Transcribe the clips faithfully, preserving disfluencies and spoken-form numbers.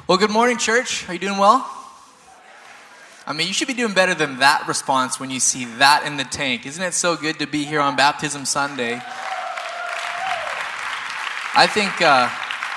Well, good morning, church. Are you doing well? I mean, you should be doing better than that response when you see that in the tank. Isn't it so good to be here on Baptism Sunday? I think uh,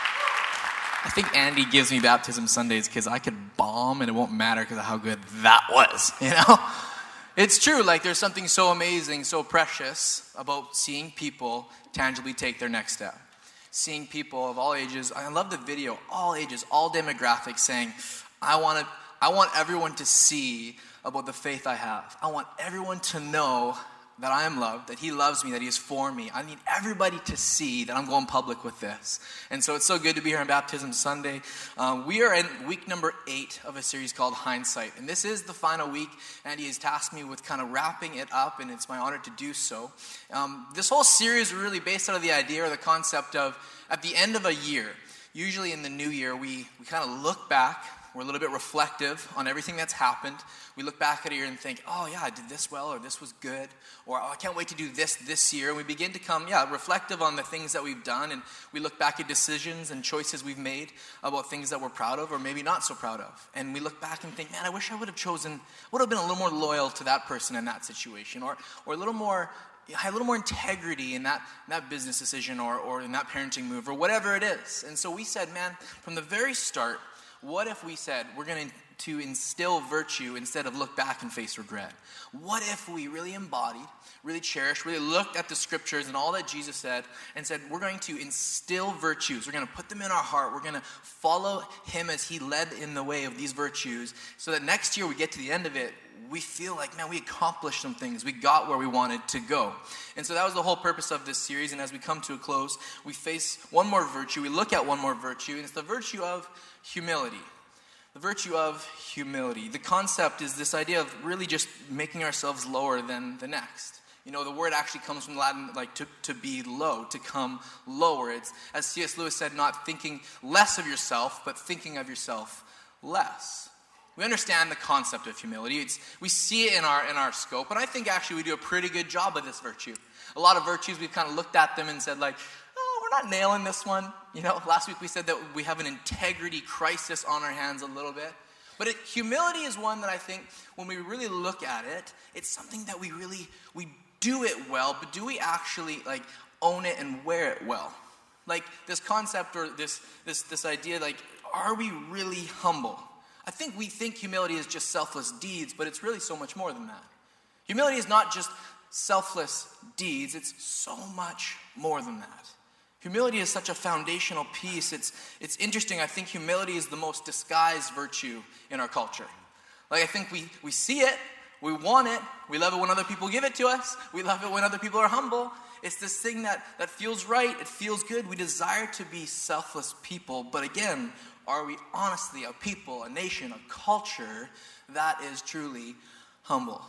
I think Andy gives me Baptism Sundays because I could bomb and it won't matter because of how good that was, you know? It's true, like there's something so amazing, so precious about seeing people tangibly take their next step. Seeing people of all ages. I love the video, all ages, all demographics saying, I want to, I want everyone to see about the faith I have. I want everyone to know that I am loved, that he loves me, that he is for me. I need everybody to see that I'm going public with this. And so it's so good to be here on Baptism Sunday. Uh, we are in week number eight of a series called Hindsight. And this is the final week, and he has tasked me with kind of wrapping it up, and it's my honor to do so. Um, this whole series is really based out of the idea or the concept of, at the end of a year, usually in the new year, we, we kind of look back. We're a little bit reflective on everything that's happened. We look back at a year and think, oh yeah, I did this well, or this was good, or oh, I can't wait to do this this year. And we begin to come, yeah, reflective on the things that we've done, and we look back at decisions and choices we've made about things that we're proud of, or maybe not so proud of. And we look back and think, man, I wish I would have chosen, would have been a little more loyal to that person in that situation, or or a little more, had a little more integrity in that, in that business decision, or or in that parenting move, or whatever it is. And so we said, man, from the very start, what if we said we're going to instill virtue instead of look back and face regret? What if we really embodied, really cherished, really looked at the scriptures and all that Jesus said and said we're going to instill virtues. We're going to put them in our heart. We're going to follow him as he led in the way of these virtues so that next year we get to the end of it, we feel like, man, we accomplished some things. We got where we wanted to go. And so that was the whole purpose of this series. And as we come to a close, we face one more virtue. We look at one more virtue, and it's the virtue of humility. The virtue of humility. The concept is this idea of really just making ourselves lower than the next. You know, the word actually comes from Latin, like to, to be low, to come lower. It's, as C S Lewis said, not thinking less of yourself, but thinking of yourself less. We understand the concept of humility. It's, we see it in our in our scope, but I think actually we do a pretty good job of this virtue. A lot of virtues, we've kind of looked at them and said like, oh, we're not nailing this one. You know, last week we said that we have an integrity crisis on our hands a little bit. But it, humility is one that I think when we really look at it, it's something that we really, we do it well, but do we actually like own it and wear it well? Like this concept or this this this idea, like, are we really humble? I think we think humility is just selfless deeds, but it's really so much more than that. Humility is not just selfless deeds, it's so much more than that. Humility is such a foundational piece. It's it's interesting. I think humility is the most disguised virtue in our culture. Like I think we, we see it, we want it, we love it when other people give it to us, we love it when other people are humble. It's this thing that, that feels right, it feels good. We desire to be selfless people, but again, are we honestly a people, a nation, a culture that is truly humble?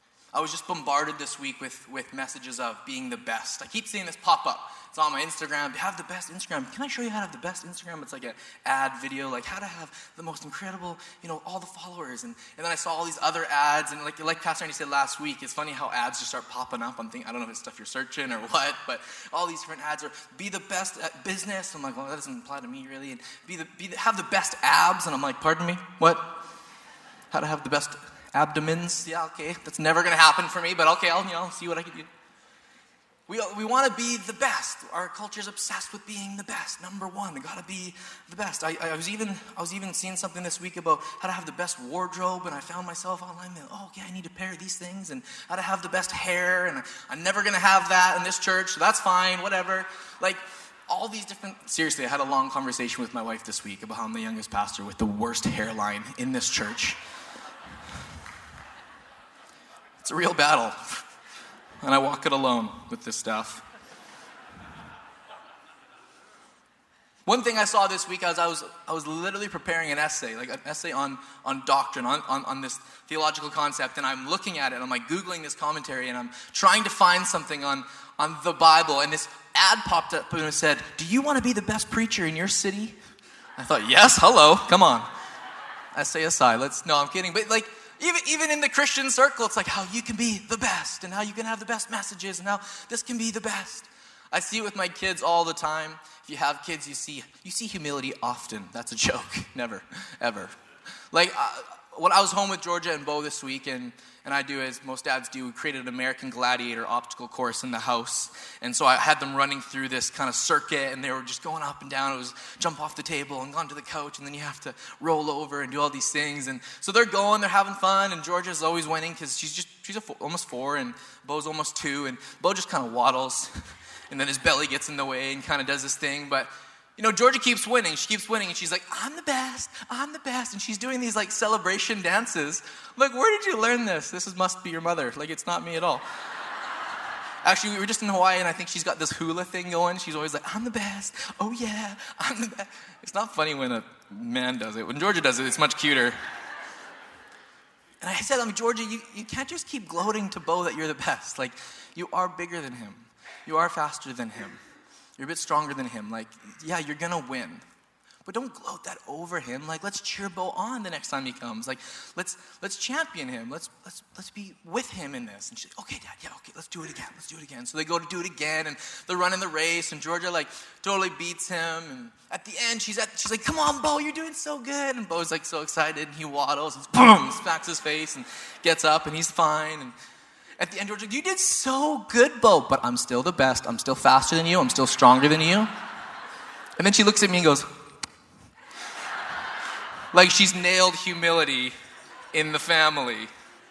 I was just bombarded this week with, with messages of being the best. I keep seeing this pop up. It's on my Instagram. Have the best Instagram. Can I show you how to have the best Instagram? It's like an ad video, like how to have the most incredible, you know, all the followers. And, and then I saw all these other ads. And like like Pastor Andy said last week, it's funny how ads just start popping up on things. I don't know if it's stuff you're searching or what, but all these different ads are be the best at business. I'm like, well, that doesn't apply to me really. And be the, be the, have the best abs. And I'm like, pardon me? What? How to have the best abdomens? Yeah, okay. That's never going to happen for me, but okay, I'll, you know, see what I can do. We we want to be the best. Our culture's obsessed with being the best. Number one, we got to be the best. I, I was even I was even seeing something this week about how to have the best wardrobe, and I found myself online. Like, oh, okay, I need to pair these things, and how to have the best hair, and I, I'm never going to have that in this church, so that's fine, whatever. Like, all these different... Seriously, I had a long conversation with my wife this week about how I'm the youngest pastor with the worst hairline in this church. It's a real battle. And I walk it alone with this stuff. One thing I saw this week as I was I was literally preparing an essay, like an essay on, on doctrine, on, on, on this theological concept, and I'm looking at it, I'm like Googling this commentary, and I'm trying to find something on, on the Bible, and this ad popped up and it said, do you want to be the best preacher in your city? I thought, yes, hello, come on. Essay aside, let's, no, I'm kidding, but like, Even even in the Christian circle, it's like how you can be the best and how you can have the best messages and how this can be the best. I see it with my kids all the time. If you have kids, you see you see humility often. That's a joke. Never, ever. Like, uh, when I was home with Georgia and Bo this week, and, and I do as most dads do, we created an American Gladiator obstacle course in the house. And so I had them running through this kind of circuit, and they were just going up and down. It was jump off the table and onto the couch, and then you have to roll over and do all these things. And so they're going, they're having fun, and Georgia's always winning because she's just she's a four, almost four, and Bo's almost two, and Bo just kind of waddles, and then his belly gets in the way and kind of does this thing, but you know, Georgia keeps winning. She keeps winning, and she's like, I'm the best. I'm the best. And she's doing these, like, celebration dances. Like, where did you learn this? This is, must be your mother. Like, it's not me at all. Actually, we were just in Hawaii, and I think she's got this hula thing going. She's always like, I'm the best. Oh, yeah, I'm the best. It's not funny when a man does it. When Georgia does it, it's much cuter. And I said, I mean, Georgia, you, you can't just keep gloating to Bo that you're the best. Like, you are bigger than him. You are faster than him. You're a bit stronger than him. Like, yeah, you're going to win. But don't gloat that over him. Like, let's cheer Bo on the next time he comes. Like, let's let's champion him. Let's let's let's be with him in this. And she's like, okay, Dad, yeah, okay, let's do it again. Let's do it again. So they go to do it again, and they're running the race, and Georgia, like, totally beats him. And at the end, she's at she's like, come on, Bo, you're doing so good. And Bo's, like, so excited, and he waddles, and boom, smacks his face, and gets up, and he's fine. And at the end, George's like, you did so good, Bo, but I'm still the best. I'm still faster than you. I'm still stronger than you. And then she looks at me and goes, like she's nailed humility in the family.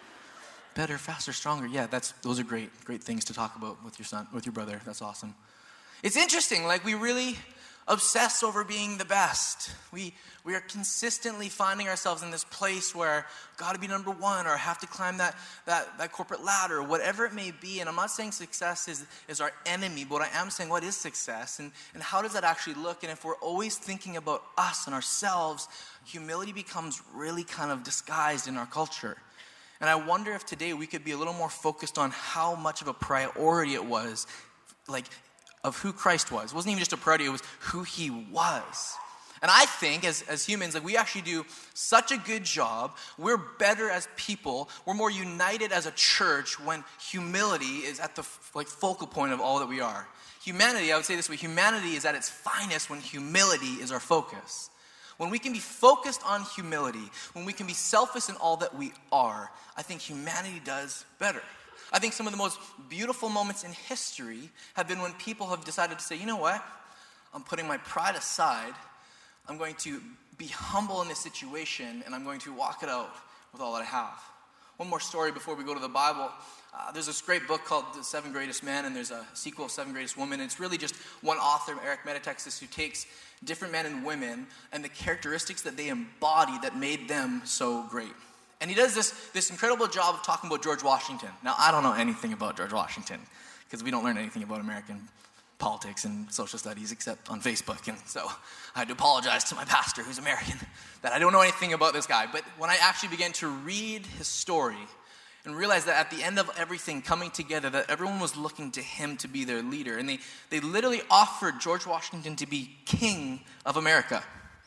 Better, faster, stronger. Yeah, that's those are great, great things to talk about with your son, with your brother. That's awesome. It's interesting, like we really obsess over being the best. We we are consistently finding ourselves in this place where got to be number one, or have to climb that, that that corporate ladder, whatever it may be. And I'm not saying success is, is our enemy, but I am saying what is success, and, and how does that actually look? And if we're always thinking about us and ourselves, humility becomes really kind of disguised in our culture. And I wonder if today we could be a little more focused on how much of a priority it was, like, of who Christ was. It wasn't even just a priority, it was who he was. And I think as, as humans, like we actually do such a good job. We're better as people. We're more united as a church when humility is at the like focal point of all that we are. Humanity, I would say this way, humanity is at its finest when humility is our focus. When we can be focused on humility, when we can be selfless in all that we are, I think humanity does better. I think some of the most beautiful moments in history have been when people have decided to say, you know what? I'm putting my pride aside. I'm going to be humble in this situation, and I'm going to walk it out with all that I have. One more story before we go to the Bible. Uh, there's this great book called The Seven Greatest Men, and there's a sequel of Seven Greatest Women. It's really just one author, Eric Metatexas, who takes different men and women and the characteristics that they embody that made them so great. And he does this, this incredible job of talking about George Washington. Now, I don't know anything about George Washington because we don't learn anything about American politics and social studies except on Facebook. And so I had to apologize to my pastor, who's American, that I don't know anything about this guy. But when I actually began to read his story and realized that at the end of everything coming together, that everyone was looking to him to be their leader. And they, they literally offered George Washington to be king of America.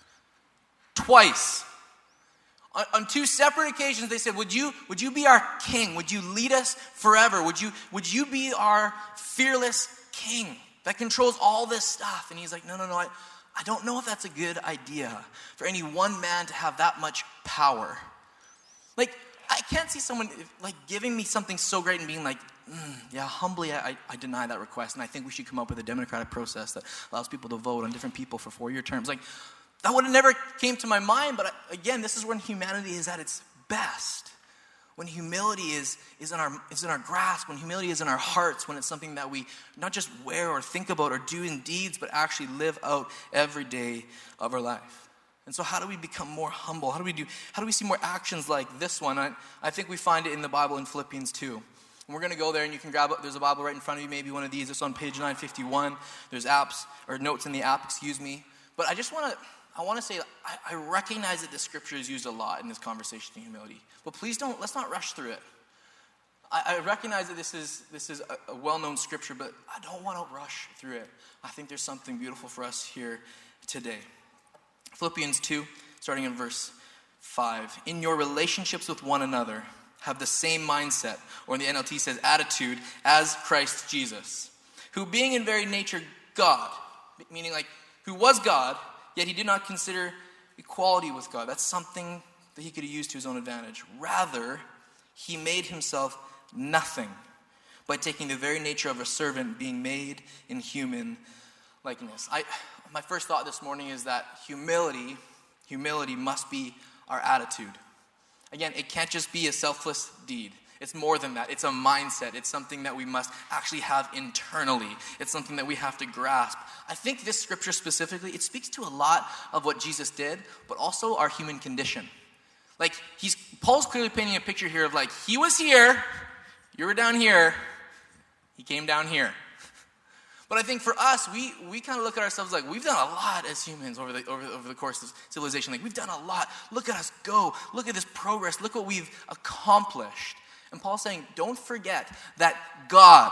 Twice. On, on two separate occasions, they said, would you, would you be our king? Would you lead us forever? Would you, would you be our fearless king that controls all this stuff? And he's like, no, no, no, I, I don't know if that's a good idea for any one man to have that much power. Like, I can't see someone like giving me something so great and being like, mm, yeah, humbly, I, I deny that request. And I think we should come up with a democratic process that allows people to vote on different people for four-year terms. Like, that would have never came to my mind. But I, again, this is when humanity is at its best. When humility is, is, in our, is in our grasp, when humility is in our hearts, when it's something that we not just wear or think about or do in deeds, but actually live out every day of our life. And so how do we become more humble? How do we do? How do we see more actions like this one? I, I think we find it in the Bible in Philippians two. And we're going to go there, and you can grab it. There's a Bible right in front of you, maybe one of these. It's on page nine fifty-one. There's apps, or notes in the app, excuse me. But I just want to, I want to say, I, I recognize that the scripture is used a lot in this conversation of humility. But please don't, let's not rush through it. I, I recognize that this is this is a, a well-known scripture, but I don't want to rush through it. I think there's something beautiful for us here today. Philippians two, starting in verse five. In your relationships with one another, have the same mindset, or in the N L T says attitude, as Christ Jesus, who being in very nature God, meaning like who was God, yet he did not consider equality with God. That's something that he could have used to his own advantage. Rather, he made himself nothing by taking the very nature of a servant, being made in human likeness. I, my first thought this morning is that humility, humility must be our attitude. Again, it can't just be a selfless deed. It's more than that. It's a mindset. It's something that we must actually have internally. It's something that we have to grasp. I think this scripture specifically, it speaks to a lot of what Jesus did, but also our human condition. Like, he's Paul's clearly painting a picture here of like, he was here, you were down here, he came down here. But I think for us, we we kind of look at ourselves like we've done a lot as humans over the over, over the course of civilization. Like, we've done a lot. Look at us go. Look at this progress. Look what we've accomplished. And Paul's saying, don't forget that God,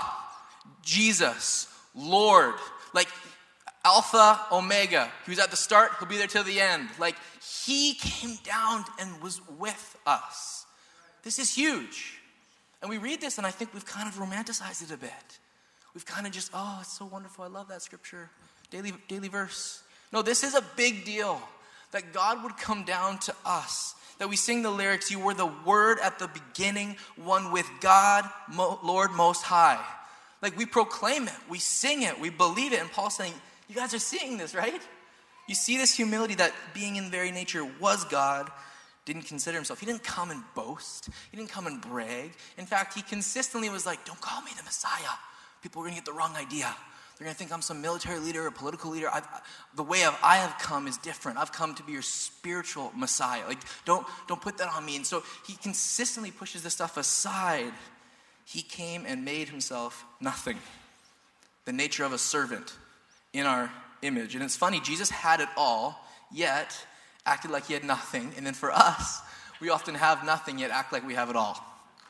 Jesus, Lord, like Alpha, Omega, he was at the start, he'll be there till the end. Like, he came down and was with us. This is huge. And we read this and I think we've kind of romanticized it a bit. We've kind of just, oh, it's so wonderful. I love that scripture. Daily, daily verse. No, this is a big deal. That God would come down to us. That we sing the lyrics, you were the Word at the beginning, one with God, Mo- Lord Most High. Like, we proclaim it. We sing it. We believe it. And Paul's saying, you guys are seeing this, right? You see this humility that being in very nature was God, didn't consider himself. He didn't come and boast. He didn't come and brag. In fact, he consistently was like, don't call me the Messiah. People are going to get the wrong idea. They're going to think I'm some military leader or political leader. I've, the way of I have come is different. I've come to be your spiritual Messiah. Like, don't, don't put that on me. And so he consistently pushes this stuff aside. He came and made himself nothing. The nature of a servant in our image. And it's funny, Jesus had it all, yet acted like he had nothing. And then for us, we often have nothing, yet act like we have it all.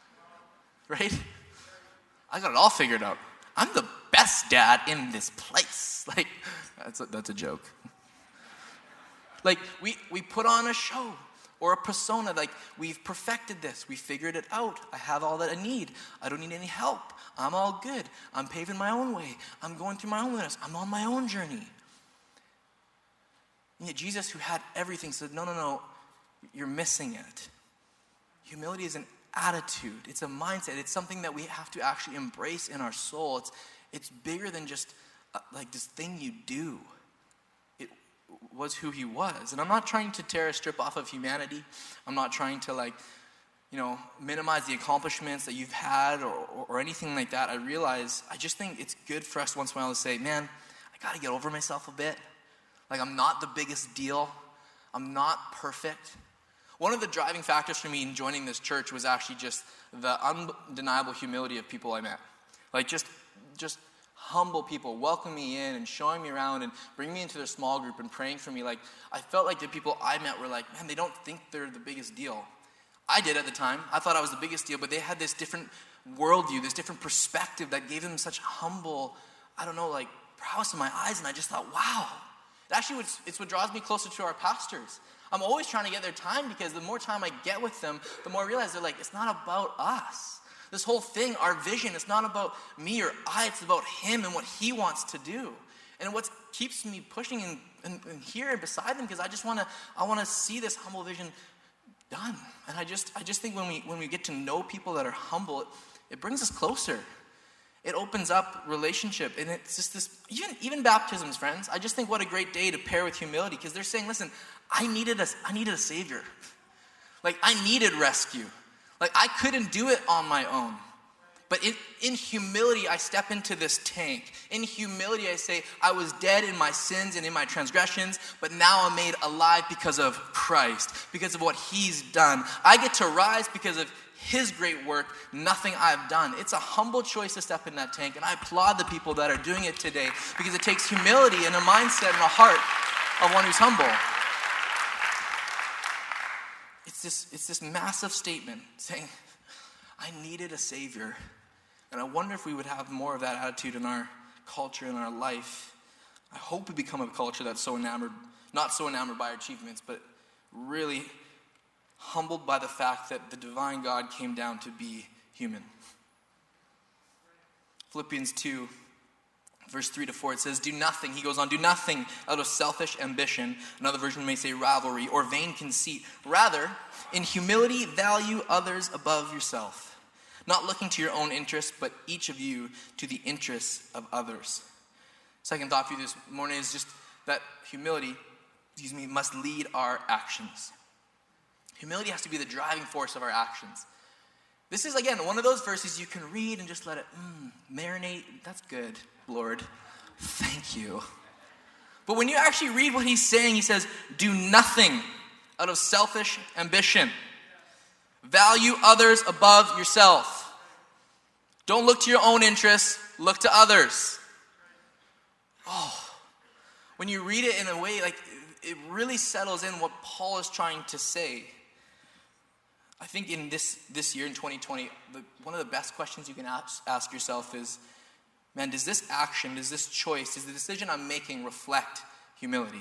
Right? I got it all figured out. I'm the best dad in this place. Like, that's a, that's a joke. Like, we, we put on a show or a persona. Like, we've perfected this. We figured it out. I have all that I need. I don't need any help. I'm all good. I'm paving my own way. I'm going through my own wilderness. I'm on my own journey. And yet Jesus, who had everything, said, no, no, no, you're missing it. Humility is an attitude. It's a mindset. It's something that we have to actually embrace in our soul. It's it's bigger than just uh, like this thing you do. It was who he was. And I'm not trying to tear a strip off of humanity. I'm not trying to like, you know, minimize the accomplishments that you've had or, or, or anything like that. I realize, I just think it's good for us once in a while to say, man, I got to get over myself a bit. Like, I'm not the biggest deal. I'm not perfect. One of the driving factors for me in joining this church was actually just the undeniable humility of people I met. Like, just just humble people welcoming me in and showing me around and bringing me into their small group and praying for me. Like, I felt like the people I met were like, man, they don't think they're the biggest deal. I did at the time. I thought I was the biggest deal, but they had this different worldview, this different perspective that gave them such humble, I don't know, like, prowess in my eyes. And I just thought, wow. It actually, it's what draws me closer to our pastors. I'm always trying to get their time because the more time I get with them, the more I realize they're like, it's not about us. This whole thing, our vision, it's not about me or I, it's about him and what he wants to do. And what keeps me pushing and, and, and here and beside them, because I just want to I want to see this humble vision done. And I just I just think when we when we get to know people that are humble, it, it brings us closer. It opens up relationship, and it's just this, even, even baptisms, friends. I just think what a great day to pair with humility, because they're saying, listen, I needed a, I needed a savior. Like, I needed rescue. Like, I couldn't do it on my own. But in, in humility, I step into this tank. In humility, I say, I was dead in my sins and in my transgressions, but now I'm made alive because of Christ, because of what he's done. I get to rise because of his great work, nothing I've done. It's a humble choice to step in that tank, and I applaud the people that are doing it today, because it takes humility and a mindset and a heart of one who's humble. It's this, it's this massive statement saying, I needed a savior. And I wonder if we would have more of that attitude in our culture, in our life. I hope we become a culture that's so enamored, not so enamored by our achievements, but really humbled by the fact that the divine God came down to be human. Philippians two, Verse three to four, it says, do nothing, he goes on, do nothing out of selfish ambition. Another version may say rivalry or vain conceit. Rather, in humility, value others above yourself, not looking to your own interests, but each of you to the interests of others. Second thought for you this morning is just that humility, excuse me, must lead our actions. Humility has to be the driving force of our actions. This is, again, one of those verses you can read and just let it mm, marinate. That's good, Lord. Thank you. But when you actually read what he's saying, he says, do nothing out of selfish ambition. Value others above yourself. Don't look to your own interests, look to others. Oh, when you read it in a way, like, it really settles in what Paul is trying to say. I think in this, this year, in twenty twenty, the, one of the best questions you can ask, ask yourself is, man, does this action, does this choice, does the decision I'm making reflect humility?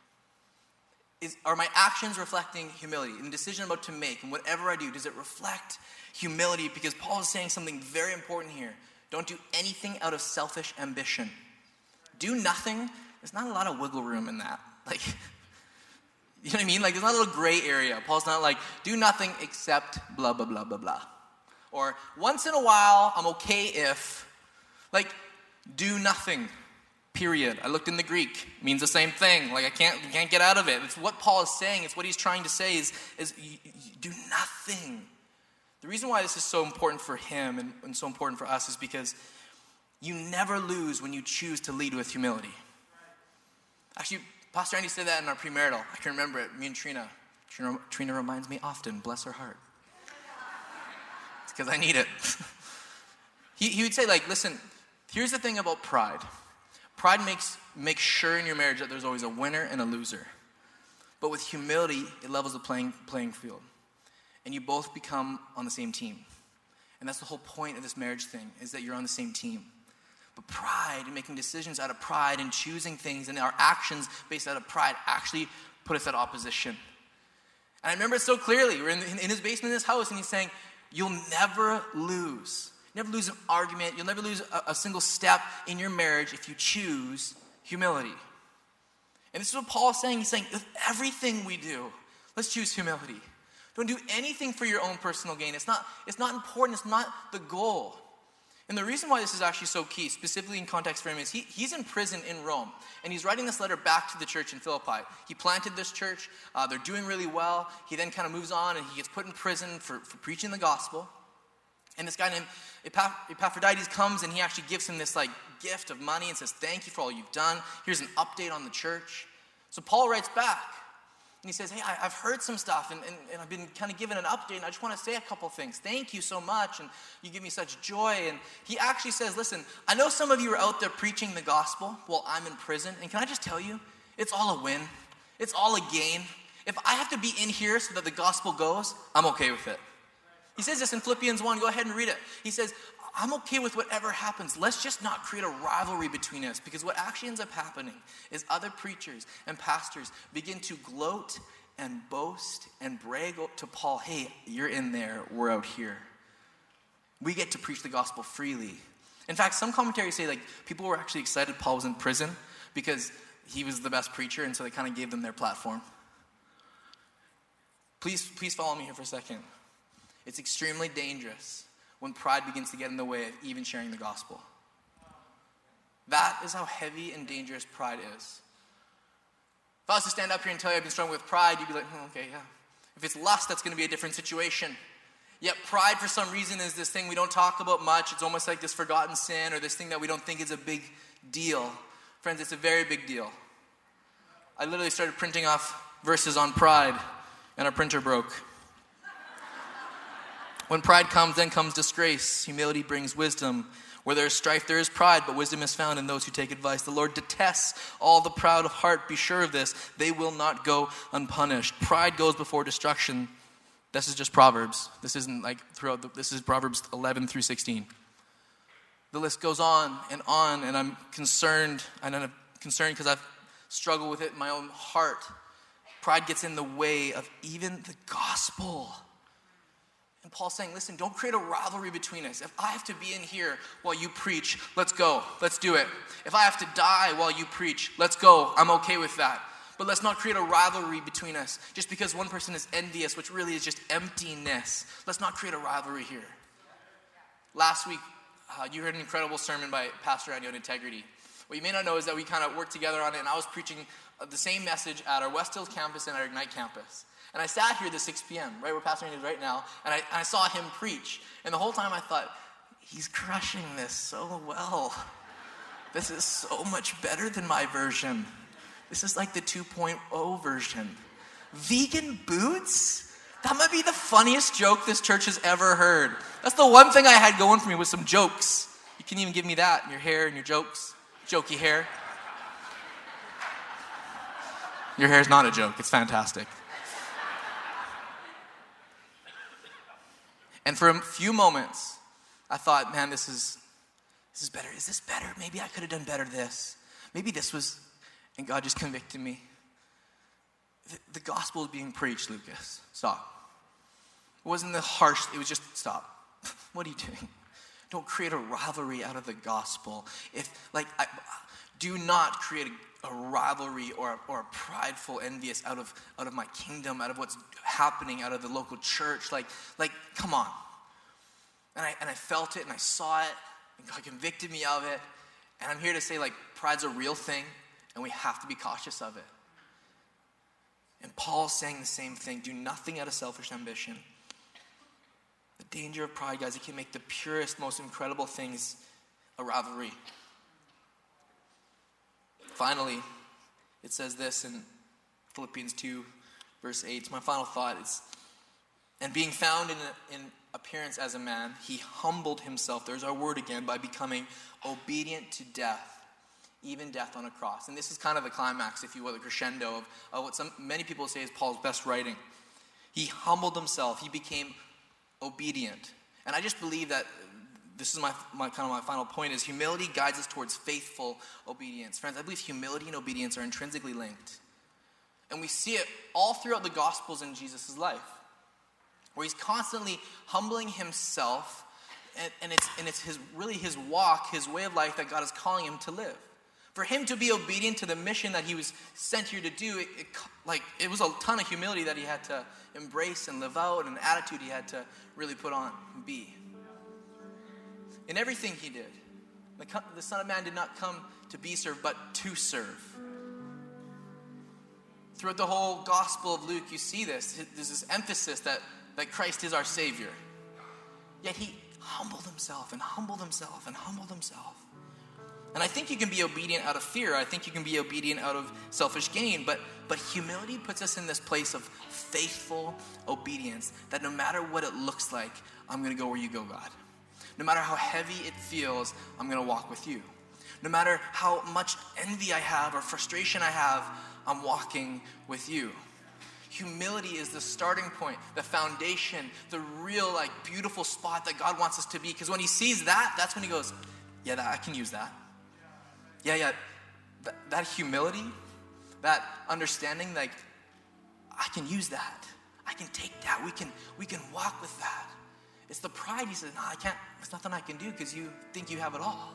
Is, are my actions reflecting humility? In the decision I'm about to make, and whatever I do, does it reflect humility? Because Paul is saying something very important here. Don't do anything out of selfish ambition. Do nothing. There's not a lot of wiggle room in that. Like, you know what I mean? Like, there's not a little gray area. Paul's not like, do nothing except blah, blah, blah, blah, blah. Or, once in a while, I'm okay if, like, do nothing, period. I looked in the Greek. It means the same thing. Like, I can't, can't get out of it. It's what Paul is saying. It's what he's trying to say is, is you, you do nothing. The reason why this is so important for him and, and so important for us is because you never lose when you choose to lead with humility. Actually, Pastor Andy said that in our premarital. I can remember it. Me and Trina. Trina, Trina reminds me often. Bless her heart. It's because I need it. he, he would say, like, listen, here's the thing about pride. Pride makes, makes sure in your marriage that there's always a winner and a loser. But with humility, it levels the playing, playing field. And you both become on the same team. And that's the whole point of this marriage thing, is that you're on the same team. But pride and making decisions out of pride and choosing things and our actions based out of pride actually put us at opposition. And I remember it so clearly. We're in, in his basement in his house and he's saying, you'll never lose. Never lose an argument. You'll never lose a, a single step in your marriage if you choose humility. And this is what Paul is saying. He's saying, with everything we do, let's choose humility. Don't do anything for your own personal gain. It's not, it's not important. It's not the goal. And the reason why this is actually so key, specifically in context for him, is he, he's in prison in Rome. And he's writing this letter back to the church in Philippi. He planted this church. Uh, they're doing really well. He then kind of moves on and he gets put in prison for, for preaching the gospel. And this guy named Epaphroditus comes and he actually gives him this like gift of money and says, thank you for all you've done. Here's an update on the church. So Paul writes back. And he says, hey, I, I've heard some stuff, and, and, and I've been kind of given an update, and I just want to say a couple things. Thank you so much, and you give me such joy. And he actually says, listen, I know some of you are out there preaching the gospel while I'm in prison, and can I just tell you, it's all a win. It's all a gain. If I have to be in here so that the gospel goes, I'm okay with it. He says this in Philippians one. Go ahead and read it. He says, I'm okay with whatever happens. Let's just not create a rivalry between us, because what actually ends up happening is other preachers and pastors begin to gloat and boast and brag to Paul, hey, you're in there, we're out here. We get to preach the gospel freely. In fact, some commentaries say like people were actually excited Paul was in prison because he was the best preacher, and so they kind of gave them their platform. Please, please follow me here for a second. It's extremely dangerous when pride begins to get in the way of even sharing the gospel. That is how heavy and dangerous pride is. If I was to stand up here and tell you I've been struggling with pride, you'd be like, oh, okay, yeah. If it's lust, that's going to be a different situation. Yet pride, for some reason, is this thing we don't talk about much. It's almost like this forgotten sin or this thing that we don't think is a big deal. Friends, it's a very big deal. I literally started printing off verses on pride, and our printer broke. When pride comes, then comes disgrace. Humility brings wisdom. Where there is strife, there is pride, but wisdom is found in those who take advice. The Lord detests all the proud of heart. Be sure of this. They will not go unpunished. Pride goes before destruction. This is just Proverbs. This isn't like throughout the, this is Proverbs eleven through sixteen. The list goes on and on, and I'm concerned, and I'm concerned because I've struggled with it in my own heart. Pride gets in the way of even the gospel. And Paul's saying, listen, don't create a rivalry between us. If I have to be in here while you preach, let's go. Let's do it. If I have to die while you preach, let's go. I'm okay with that. But let's not create a rivalry between us. Just because one person is envious, which really is just emptiness. Let's not create a rivalry here. Last week, uh, you heard an incredible sermon by Pastor Andy on integrity. What you may not know is that we kind of worked together on it, and I was preaching the same message at our West Hills campus and our Ignite campus. And I sat here at the six p.m., right where Pastor Andy is right now, and I, and I saw him preach. And the whole time I thought, he's crushing this so well. This is so much better than my version. This is like the two point oh version. Vegan boots? That might be the funniest joke this church has ever heard. That's the one thing I had going for me, was some jokes. You can even give me that, your hair and your jokes. Jokey hair. Your hair is not a joke. It's fantastic. And for a few moments, I thought, man, this is this is better. Is this better? Maybe I could have done better this. Maybe this was, and God just convicted me. The, the gospel is being preached, Lucas. Stop. It wasn't the harsh, it was just, stop. What are you doing? Don't create a rivalry out of the gospel. If, like, I, do not create a, a rivalry or a, or a prideful envious out of out of my kingdom, out of what's happening, out of the local church. Like, like, come on. And I and I felt it and I saw it, and God convicted me of it. And I'm here to say, like, pride's a real thing, and we have to be cautious of it. And Paul's saying the same thing. Do nothing out of selfish ambition. The danger of pride, guys, it can make the purest, most incredible things a rivalry. Finally, it says this in Philippians two, verse eight. My final thought is, and being found in, a, in appearance as a man, he humbled himself, there's our word again, by becoming obedient to death, even death on a cross. And this is kind of the climax, if you will, the crescendo of, of what some many people say is Paul's best writing. He humbled himself. He became obedient. And I just believe that this is my, my kind of my final point is humility guides us towards faithful obedience. Friends, I believe humility and obedience are intrinsically linked. And we see it all throughout the Gospels in Jesus' life, where he's constantly humbling himself, and, and it's and it's his really his walk, his way of life that God is calling him to live. For him to be obedient to the mission that he was sent here to do, it, it, like it was a ton of humility that he had to embrace and live out, and an attitude he had to really put on and be. In everything he did, the, the Son of Man did not come to be served, but to serve. Throughout the whole Gospel of Luke, you see this. There's this emphasis that, that Christ is our Savior. Yet he humbled himself and humbled himself and humbled himself. And I think you can be obedient out of fear. I think you can be obedient out of selfish gain. But, but humility puts us in this place of faithful obedience, that no matter what it looks like, I'm going to go where you go, God. No matter how heavy it feels, I'm going to walk with you. No matter how much envy I have or frustration I have, I'm walking with you. Humility is the starting point, the foundation, the real, like, beautiful spot that God wants us to be. Because when he sees that, that's when he goes, yeah, that, I can use that. Yeah, yeah, that, that humility, that understanding, like, I can use that. I can take that. We can, we can walk with that. It's the pride. He says, no, I can't. There's nothing I can do because you think you have it all.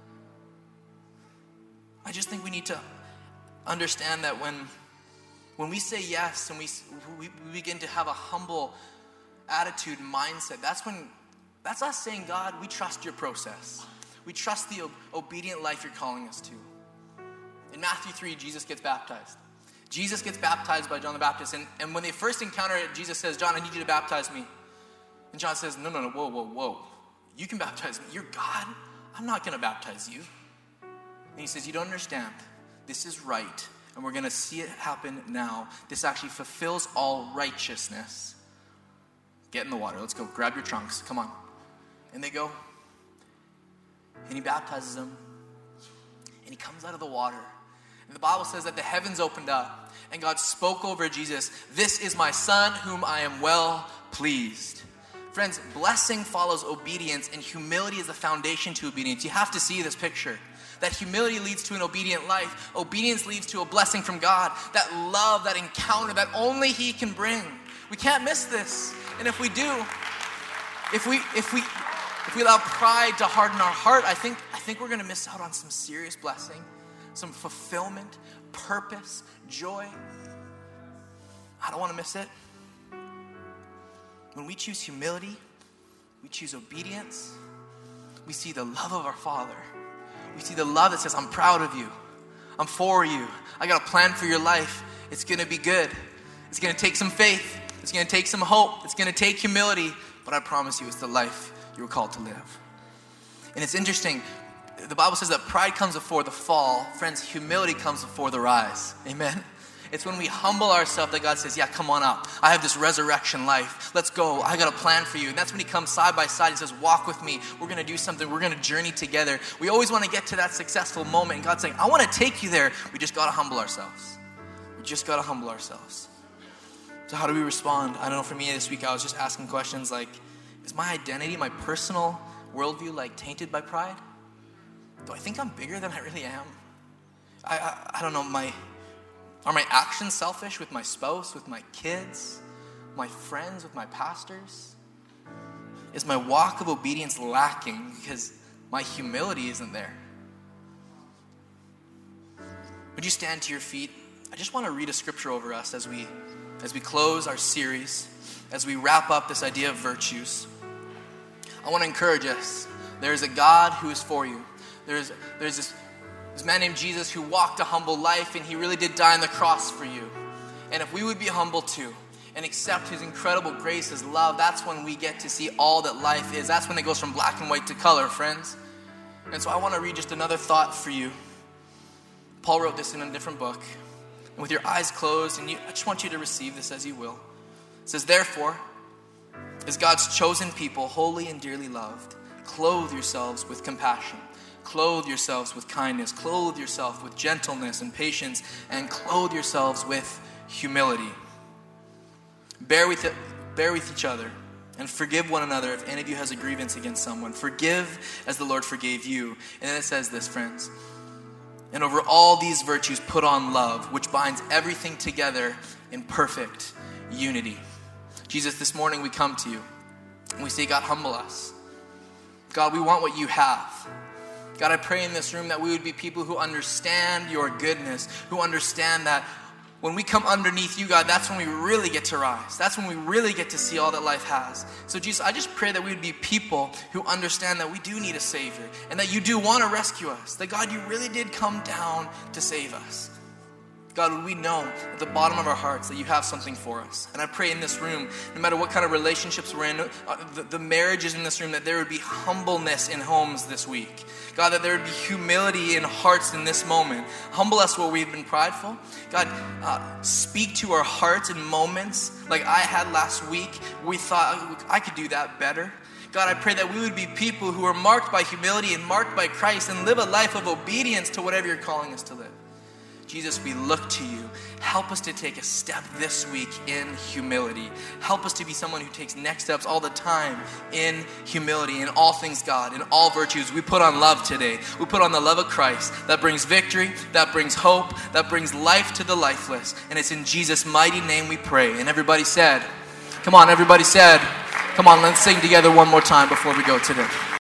I just think we need to understand that when, when we say yes and we, we, we begin to have a humble attitude, mindset, that's when, that's us saying, God, we trust your process. We trust the obedient life you're calling us to. In Matthew three, Jesus gets baptized. Jesus gets baptized by John the Baptist. And, and when they first encounter it, Jesus says, John, I need you to baptize me. And John says, no, no, no, whoa, whoa, whoa. You can baptize me. You're God. I'm not going to baptize you. And he says, you don't understand. This is right. And we're going to see it happen now. This actually fulfills all righteousness. Get in the water. Let's go. Grab your trunks. Come on. And they go. And he baptizes them. And he comes out of the water. And the Bible says that the heavens opened up. And God spoke over Jesus. This is my son whom I am well pleased. Friends, blessing follows obedience, and humility is the foundation to obedience. You have to see this picture. That humility leads to an obedient life. Obedience leads to a blessing from God. That love, that encounter that only he can bring. We can't miss this. And if we do, if we if we if we allow pride to harden our heart, I think I think we're going to miss out on some serious blessing, some fulfillment, purpose, joy. I don't want to miss it. When we choose humility, we choose obedience, we see the love of our Father. We see the love that says, I'm proud of you. I'm for you. I got a plan for your life. It's going to be good. It's going to take some faith. It's going to take some hope. It's going to take humility. But I promise you, it's the life you were called to live. And it's interesting. The Bible says that pride comes before the fall. Friends, humility comes before the rise. Amen? It's when we humble ourselves that God says, yeah, come on up. I have this resurrection life. Let's go. I got a plan for you. And that's when he comes side by side and says, walk with me. We're going to do something. We're going to journey together. We always want to get to that successful moment. And God's saying, I want to take you there. We just got to humble ourselves. We just got to humble ourselves. So how do we respond? I don't know, for me this week, I was just asking questions like, is my identity, my personal worldview, like tainted by pride? Do I think I'm bigger than I really am? I, I, I don't know, my... Are my actions selfish with my spouse, with my kids, my friends, with my pastors? Is my walk of obedience lacking because my humility isn't there? Would you stand to your feet? I just want to read a scripture over us as we as we close our series, as we wrap up this idea of virtues. I want to encourage us. There is a God who is for you. There's there's this This man named Jesus who walked a humble life, and he really did die on the cross for you. And if we would be humble too and accept his incredible grace, his love, that's when we get to see all that life is. That's when it goes from black and white to color, friends. And so I want to read just another thought for you. Paul wrote this in a different book. And with your eyes closed, and you, I just want you to receive this as you will. It says, therefore, as God's chosen people, holy and dearly loved, clothe yourselves with compassion. Clothe yourselves with kindness. Clothe yourself with gentleness and patience. And clothe yourselves with humility. Bear with, it, bear with each other and forgive one another if any of you has a grievance against someone. Forgive as the Lord forgave you. And then it says this, friends. And over all these virtues put on love, which binds everything together in perfect unity. Jesus, this morning we come to you and we say, God, humble us. God, we want what you have. God, I pray in this room that we would be people who understand your goodness, who understand that when we come underneath you, God, that's when we really get to rise. That's when we really get to see all that life has. So Jesus, I just pray that we would be people who understand that we do need a Savior and that you do want to rescue us. That God, you really did come down to save us. God, would we know at the bottom of our hearts that you have something for us? And I pray in this room, no matter what kind of relationships we're in, uh, the, the marriages in this room, that there would be humbleness in homes this week. God, that there would be humility in hearts in this moment. Humble us where we've been prideful. God, uh, speak to our hearts in moments like I had last week. We thought I could do that better. God, I pray that we would be people who are marked by humility and marked by Christ and live a life of obedience to whatever you're calling us to live. Jesus, we look to you. Help us to take a step this week in humility. Help us to be someone who takes next steps all the time in humility, in all things God, in all virtues. We put on love today. We put on the love of Christ that brings victory, that brings hope, that brings life to the lifeless. And it's in Jesus' mighty name we pray. And everybody said, come on, everybody said, come on, let's sing together one more time before we go today.